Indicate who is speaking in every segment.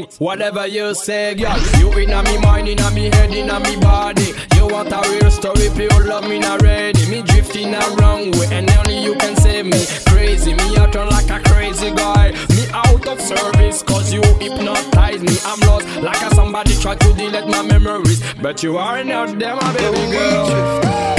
Speaker 1: whatever you say, girl. You inna me mind, inna me head, inna me body. You want a real story, pure love me not ready. Me drifting a wrong way, and only you can save me. Crazy, me out turn like a crazy guy. Me out of service, cause you hypnotize me. I'm lost, like a somebody try to delete my memories. But you are not there, my baby girl.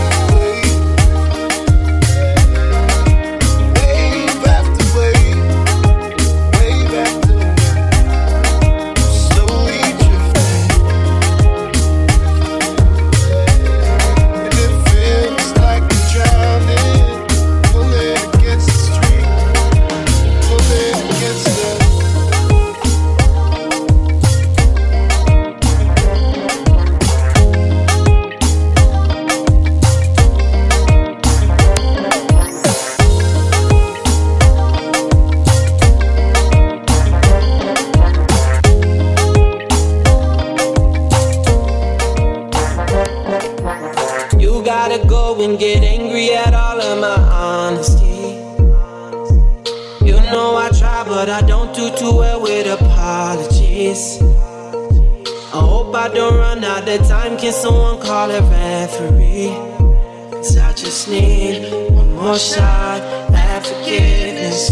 Speaker 2: And get angry at all of my honesty. You know I try, but I don't do too well with apologies. I hope I don't run out of time. Can someone call a referee? 'Cause I just need one more shot at forgiveness.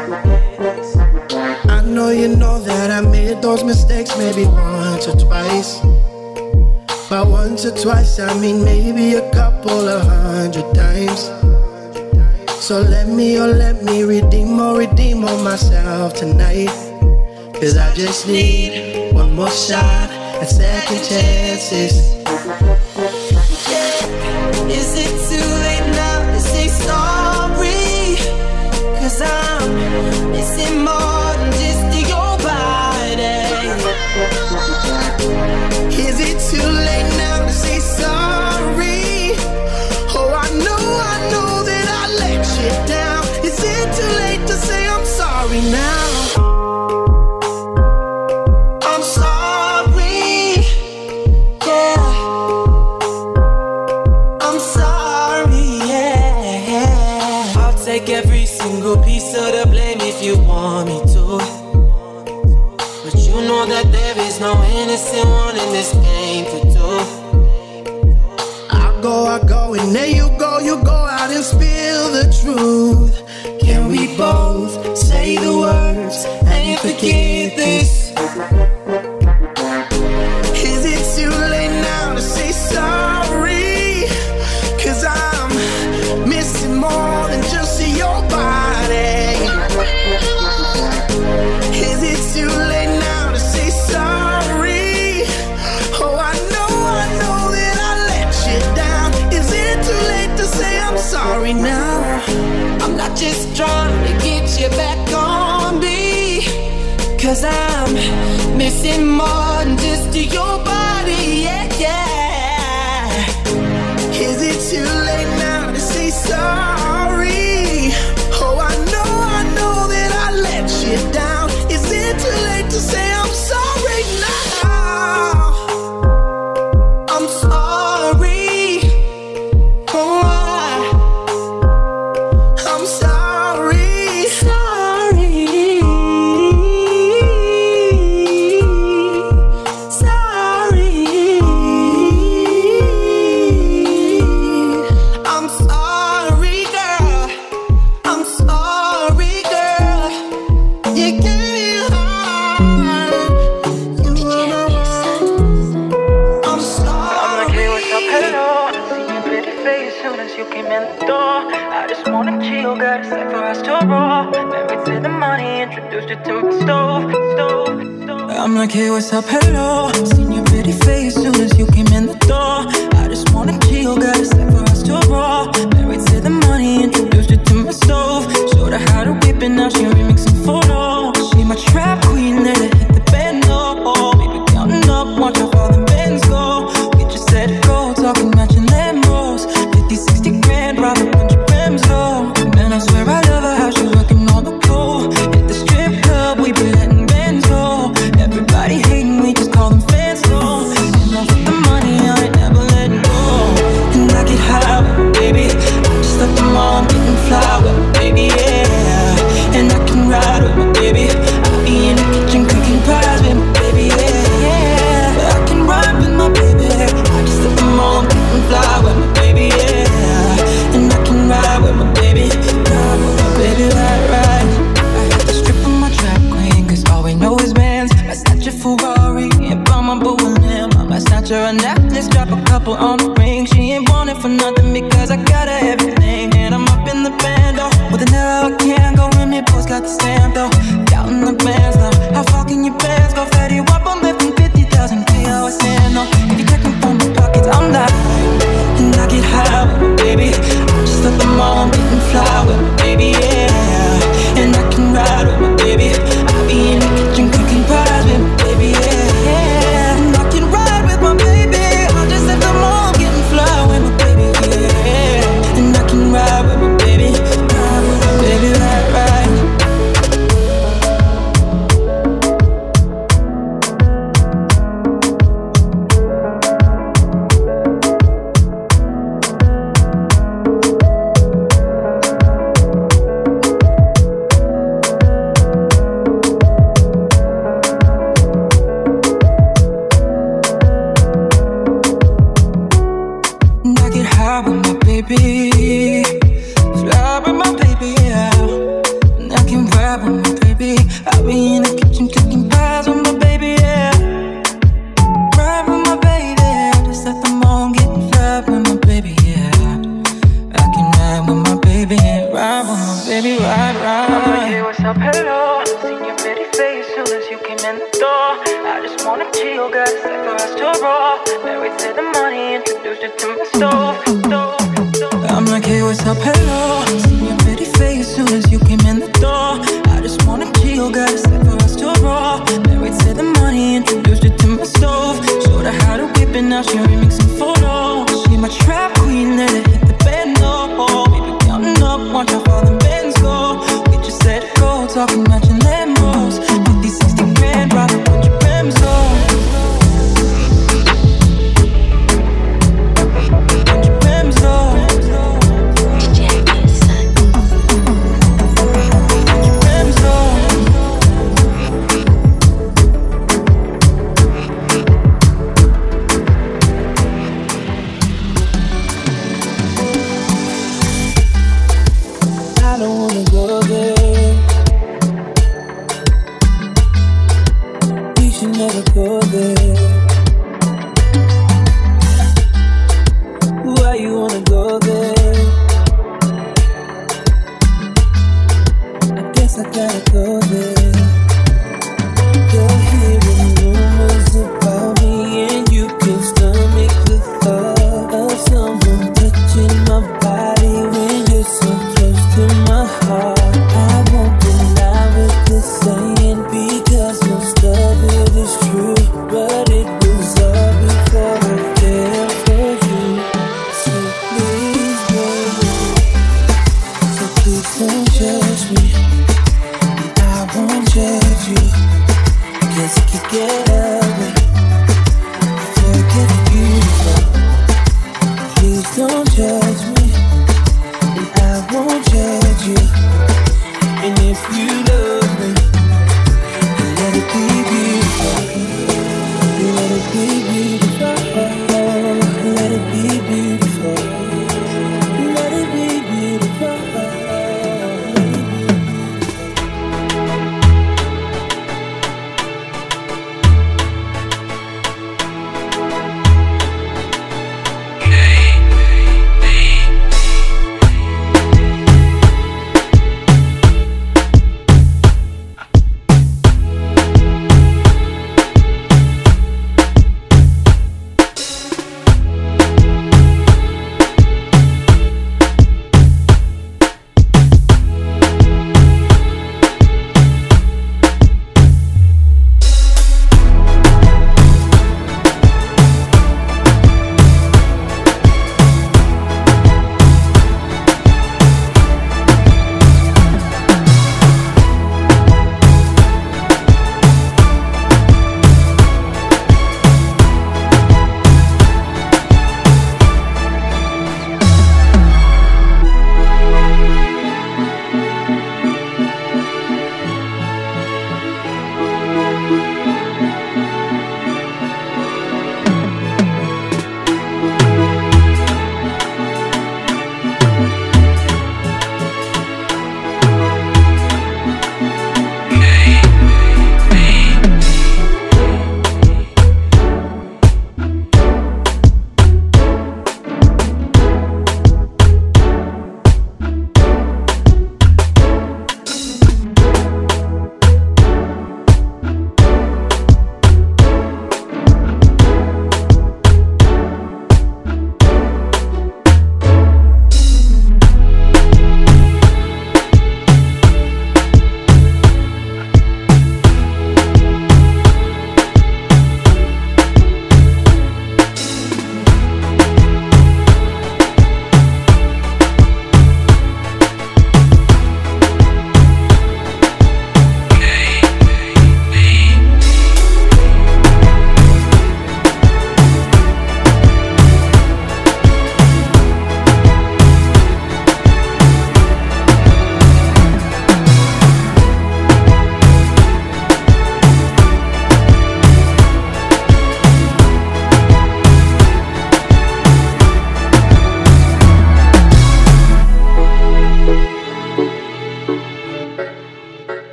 Speaker 3: I know you know that I made those mistakes maybe once or twice. By once or twice, I mean maybe a couple of 100 times. So let me redeem on myself tonight. 'Cause I just need one more shot at second chances.
Speaker 2: Is it too late now to say sorry? 'Cause I'm missing more than just your body.
Speaker 3: Is it too late now to say sorry? Oh, I know that I let you down. Is it too late to say I'm sorry now? I'm sorry, yeah. I'm sorry, yeah. I'll take every single piece of the blame if you want me to. But you know that there is no innocent one in this game for two. I go, and there you go out and spill the truth. Can we both say the words and forget this? Is it too late now to say sorry? 'Cause I'm missing more than just your body. Is it too late now to say sorry? Oh, I know that I let you down. Is it too late to say I'm sorry now?
Speaker 2: I'm not just trying to get you back on me, 'cause I'm missing more than just your body, yeah, yeah.
Speaker 3: Is it too late now to say sorry? Oh, I know that I let you down. Is it too late to say I'm sorry now? I'm sorry. Oh, I'm sorry. Sorry. Sorry. I'm sorry, girl. I'm sorry, girl. You gave me a heart. You were I'm sorry.
Speaker 4: I'm like, hey, what's up, hello. See your pretty face soon as you came in the door. I just wanna chill, got a set for us to roll. Married to the money, introduced you to my stove. I'm like, hey, what's up, hello. Seen your pretty face soon as you came in the door. I just wanna chill, got a set for us to roll. Married to the money, introduced you to my stove. Showed her how to whip it, now she remixing photos. She my trap queen, let her hit the bando. We be counting up, watch how far the bands go. We just set it go, talking matching Lambos. 50, 60 grand, rob a bunch of Rams, though. Man, I swear I love her, how she working all the pole. Hit the strip club, we be letting bands go. Everybody hating, we just call them fans, though. And off with the money, I ain't never letting go. And I get high, baby. I just left the mall, I'm getting flower, baby, yeah. And I can ride with my baby. I'll be in the kitchen cooking pies with
Speaker 2: put on the ring. She ain't want it for nothing because I got her everything. And I'm up in the band, though, with an arrow I can't go in. Me post got the stamp, though, counting the bands now. How far can your bands go? Fetty Wap, I'm lifting 50,000 K, I was saying, no. If you checking from my pockets, I'm not. And I get high with my baby. I just at the mall, I'm getting fly with my baby, yeah. And I can ride with my baby. I be in the kitchen cooking pies with my baby, yeah. And I can ride with my baby. I just at the mall, getting fly with my baby, yeah. And I can ride with my baby, ride with my baby, ride, ride.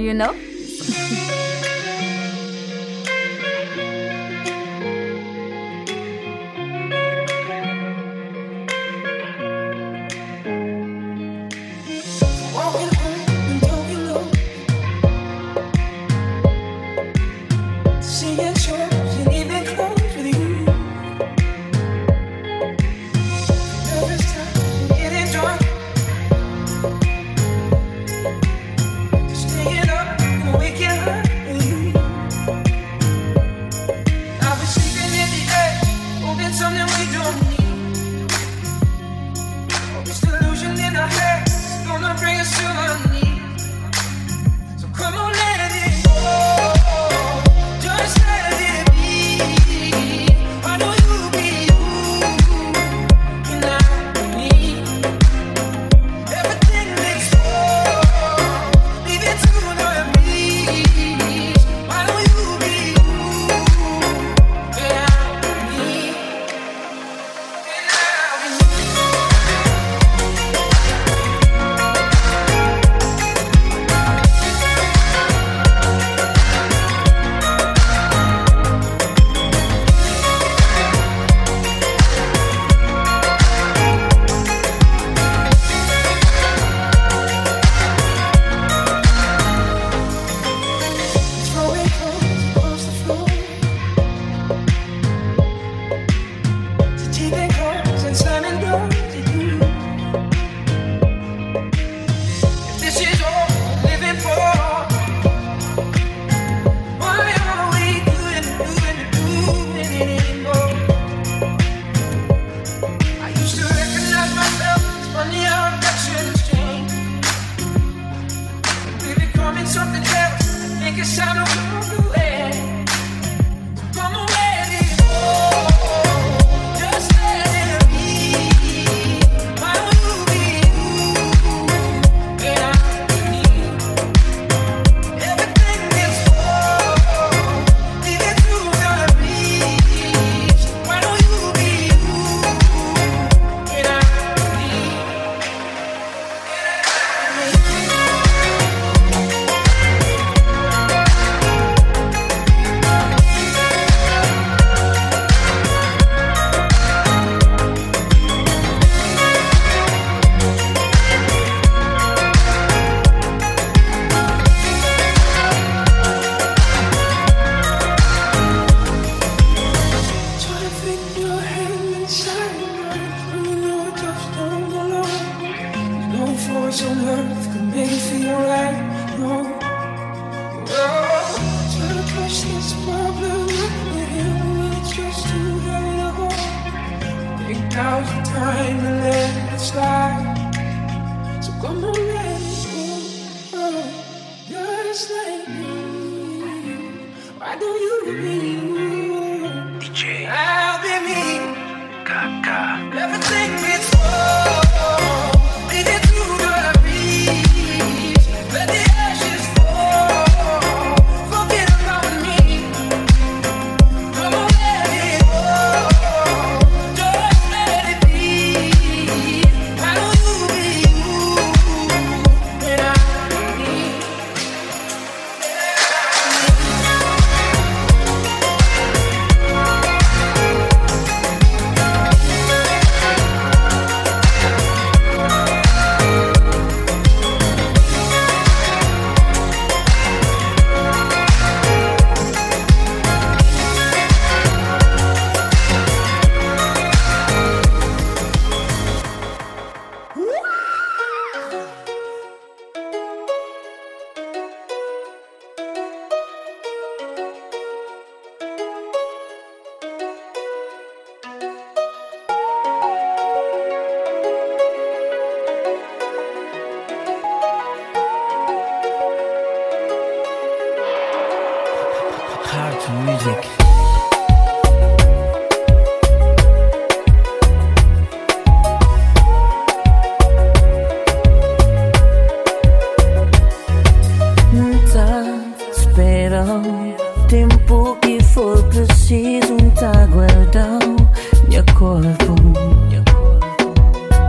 Speaker 5: you know?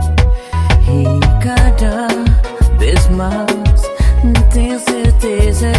Speaker 6: Tenho certeza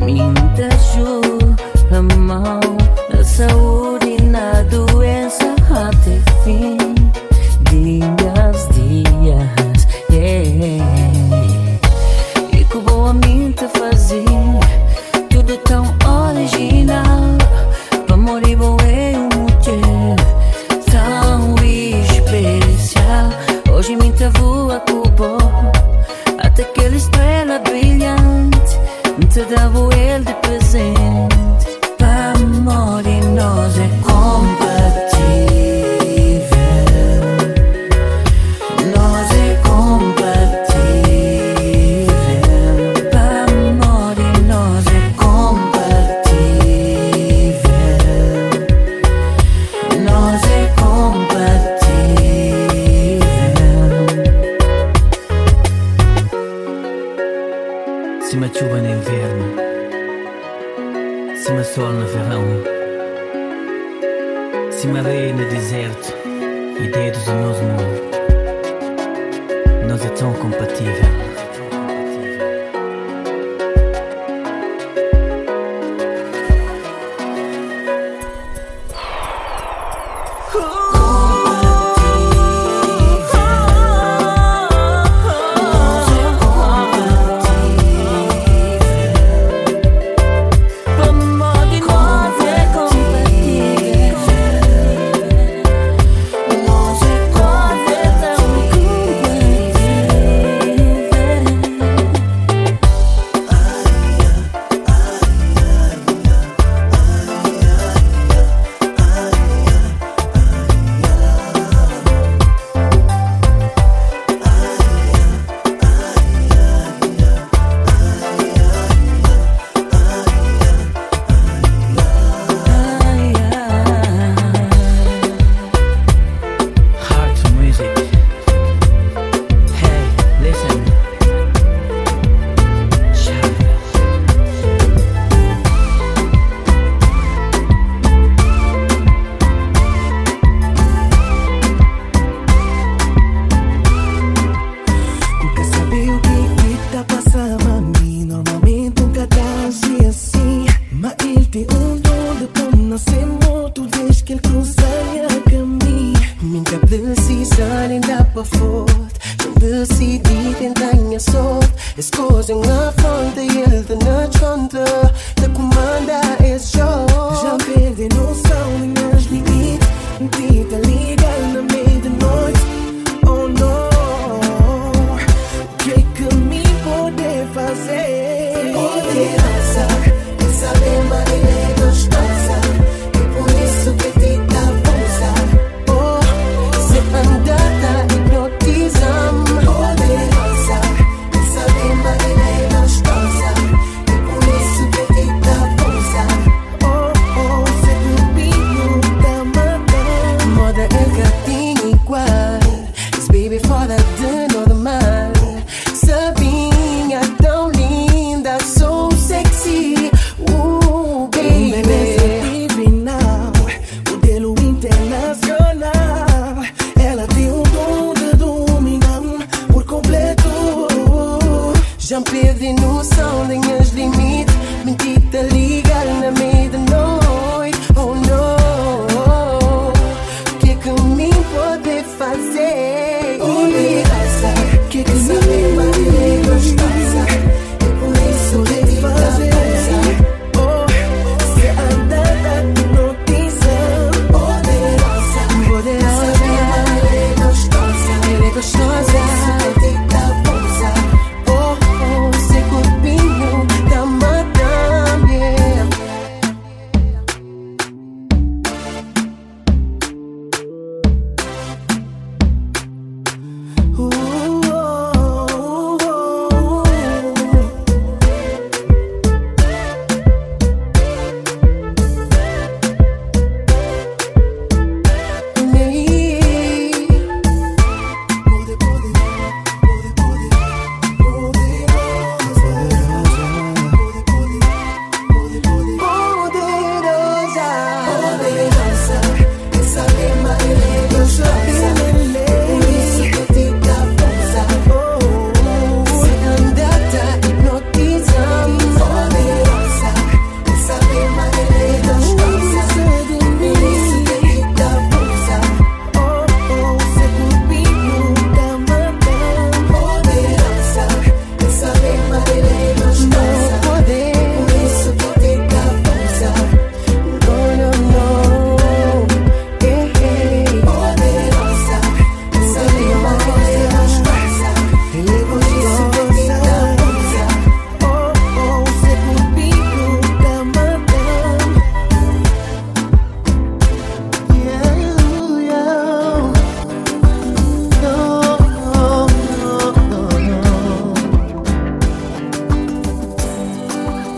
Speaker 5: Minta a mão na saúde e na doença até fim. Dias, yeah. E que boa minta fazer tudo tão original. Pra morir bom é uma mulher tão especial. Hoje minta voa cubo até aquela estrela brilhante. Te dava ele de presente. Pra amor e nós é compatível. Nós é compatível. Pra amor e nós é compatível. Nós é compatível. Cima chuva no inverno, cima sol no verão, cima areia no deserto e dedos no nosso mundo. Nós é tão compatível.
Speaker 2: Nós é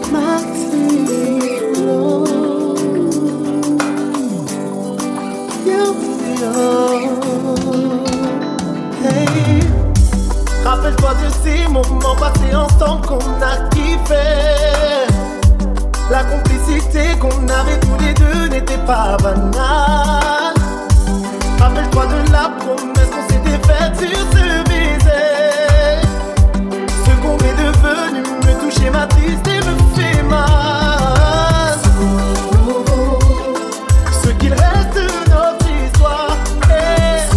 Speaker 3: my tears flow. Hey. Rappelle-toi de ces moments passés ensemble qu'on a kiffé. La complicité qu'on avait tous les deux n'était pas banale. Rappelle-toi de la promesse qu'on s'était faite sur ce baiser. Ce qu'on est devenu me touche et m'attriste et me fait mal. Ce qu'il reste de notre histoire est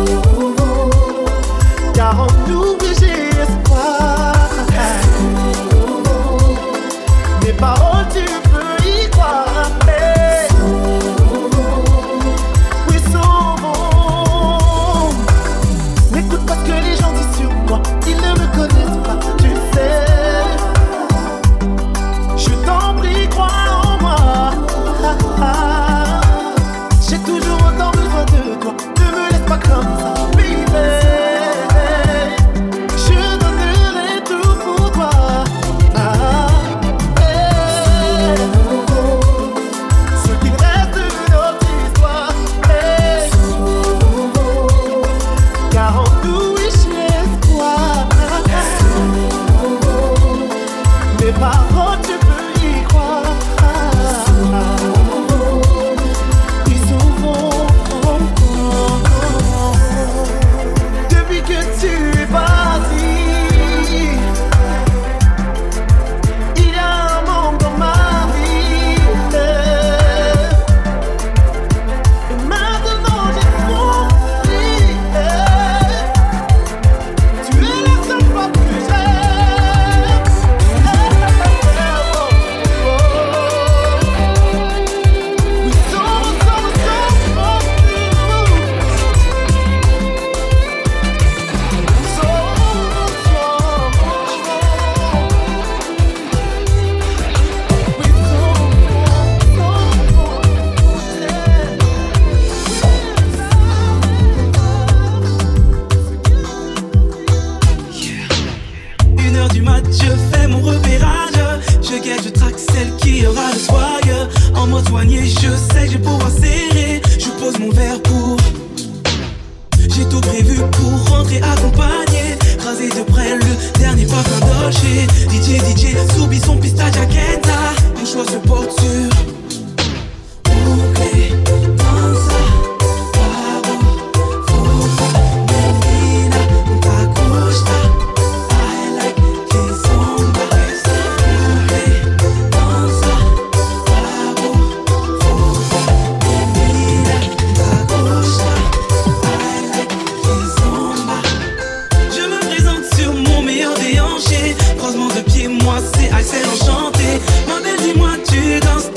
Speaker 3: car en nous j'ai espoir. Mes paroles tu peux y croire. Oui, sauvons. N'écoute pas ce que les gens disent sur moi, ils ne me connaissent pas, tu sais. Je t'en prie, crois en moi. J'ai toujours autant besoin de toi, ne me laisse pas comme ça, baby. Je donnerai tout pour toi. Ce qu'il reste de notre histoire est car en nous j'ai espoir. Mes paroles tu peux y croire. Ils s'ouvrent depuis que tu es parti. Il y a un manque dans ma vie. Et maintenant j'ai compris. Tu es la seule femme que j'aime. We so
Speaker 6: Une heure du mat, je fais mon repérage. Je guette, je traque celle qui aura le swag. En mode soigné, je sais que je vais pouvoir serrer. Je pose mon verre pour. J'ai tout prévu pour rentrer accompagné. Raser de près le dernier parfum Dolce. DJ, soubi son pistache à Kenta. Mon choix se porte sur. Bouclé, danza, babo, fofa, menina, ta costa. I like kizomba. Bouclé, danza, babo, fofa, menina, ta costa. I like kizomba. Je me présente sur mon meilleur déhanché. Croisement de pieds, moi c'est Axel enchanté. Ma belle, dis-moi, tu danses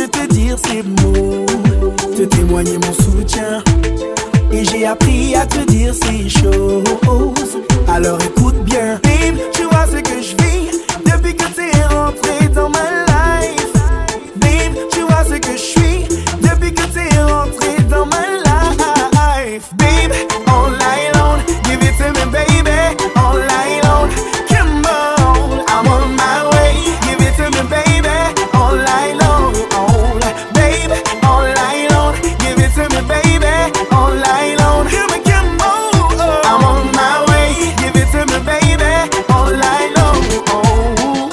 Speaker 3: te dire ces mots, te témoigner mon soutien. Et j'ai appris à te dire ces choses. Alors écoute bien, babe, tu vois ce que je vis depuis que t'es rentré dans ma life. Babe, tu vois ce que je suis depuis que t'es rentré dans ma life. Babe, all night long, give it to me, baby, all night long. Come on, I'm on my way. Give it to me, baby, all night long. Oh, babe, all night long, give it to me, baby, all night long. Come on, I'm on my way. Give it to me, baby, all night long. Oh,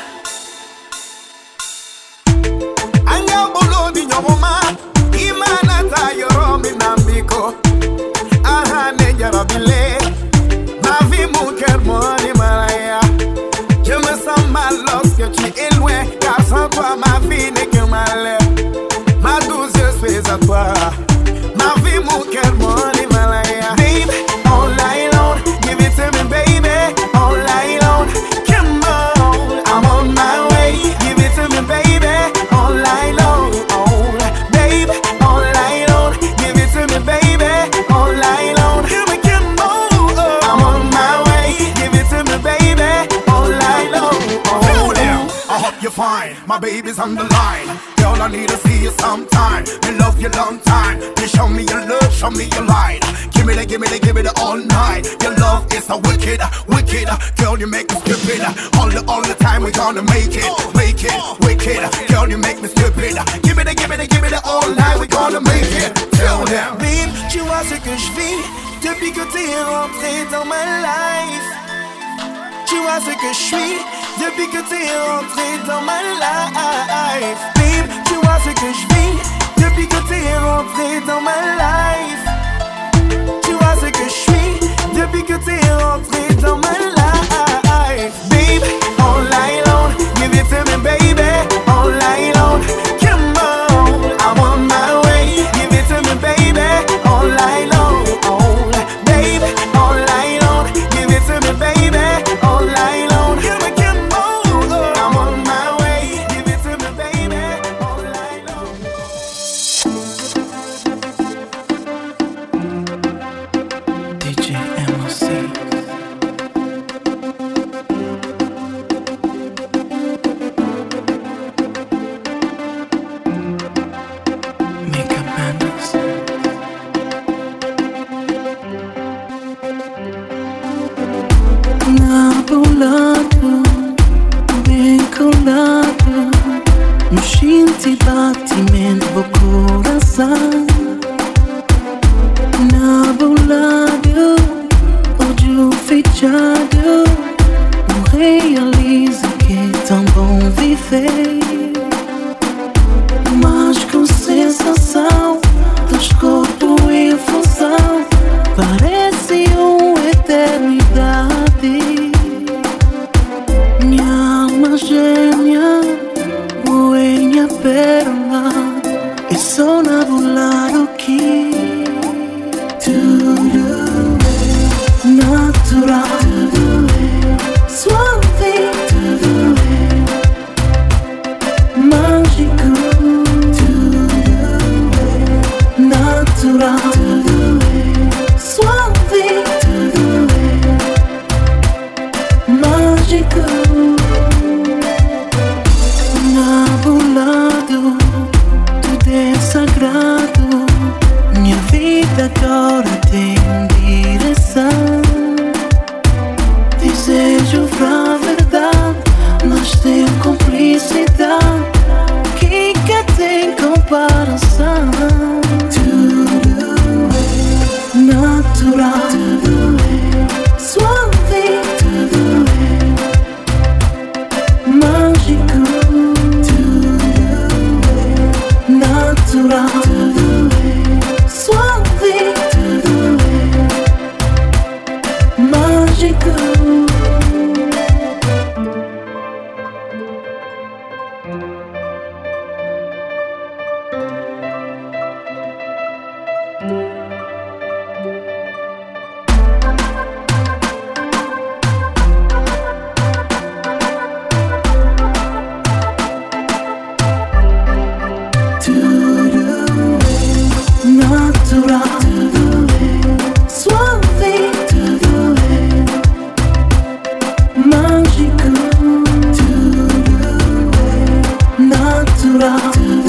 Speaker 3: anga bolo di nyoma, imana ta yoro minambiko. Aha nejara bile, ma vie mon cœur mon Himalaya. Je me sens mal lorsque tu es loin, car sans toi ma vie n'est que malheur. Ma douce je suis à toi, ma vie mon cœur mon Himalaya. Babe, all night long, give it to me baby, all night long. Come on, I'm on my way. Give it to me baby, all night long. Oh, babe, all night long, give it to me baby, all night long. Come on, I'm on my way. Give it to me baby, all night long.
Speaker 7: Hello there, I hope you're fine. My baby's on the line. Girl, I need to see you sometime. Me love you long time. You show me your love, show me your light. Give me the all night. Your love is so wicked, wicked. Girl, you make me stupid. All the time we gonna make it, wicked. Girl, you make me stupid. Give me the all night we gonna make it. Tell them.
Speaker 3: Babe, tu vois ce que je vis depuis que t'es rentré dans ma life. Tu vois ce que je suis depuis que t'es rentré dans ma life. Babe, tu vois ce que je vis depuis que t'es rentré dans ma life. Tu vois ce que je suis depuis que t'es rentré dans ma life. Babe, all night long, give it to me baby, all night long. Come on, I'm on my way. Give it to me baby, all night long. Oh, babe, all night long, give it to me baby, all night long. Come on, I'm on my way. Give it to me baby, all night long. DJ MLC. Mega Mandals. Nabulado, bem colado, no xinte batimento do coração. Nabulado, ódio fechado, não realizo que é tão bom viver. Mas com sensação dos corpos em função, parece uma eternidade. Minha alma gêmea, minha pérola, é só nabulado que tudo é natural, tudo é suave, tudo é mágico, tudo é natural, tudo é suave, tudo é mágico. Nabulado, tudo é sagrado. Minha vida agora tem direção. Desejo pra verdade, nós temos cumplicidade que tem comparação. Tudo é natural, tudo é suave, tudo é mágico, tudo é natural, tudo é suave, tudo é mágico.
Speaker 5: down.